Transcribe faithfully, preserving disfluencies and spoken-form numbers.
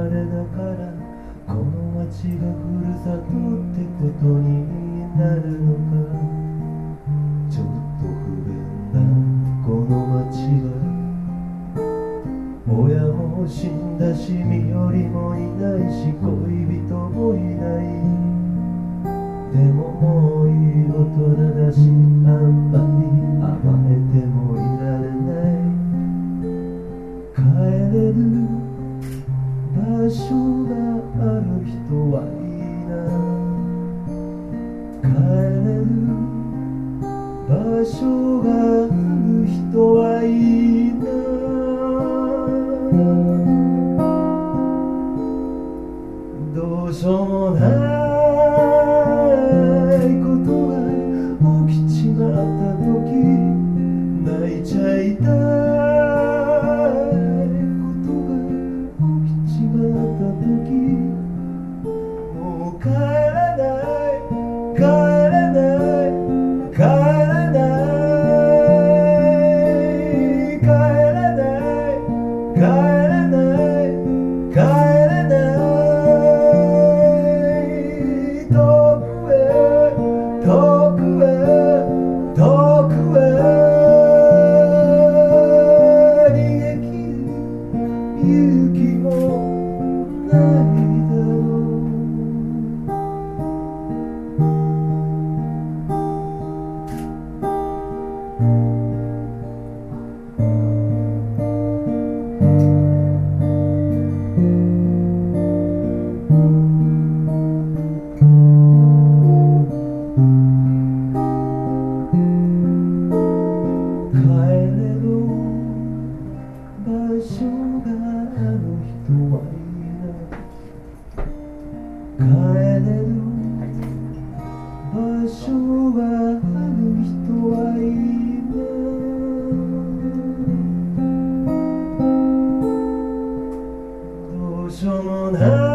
れだからこの街がふるさとってことになるのか。ちょっと不便なこの街は親も死んだし身寄りもいないし恋人もいない。でももういい大人だしあんまり甘えてもいられない。帰れる場所がある人はいいな。帰れる場所がある人はいいな。どうしようもないことが起きちまった時泣いちゃいたいことが起きちまった時もう帰れない帰れない帰れない帰れない帰れない帰れない遠くへ遠くへ遠くへ逃げ切る勇気もないだろう。帰れる場所がある人はいない。帰れる場所がある人はいない。どうしようもない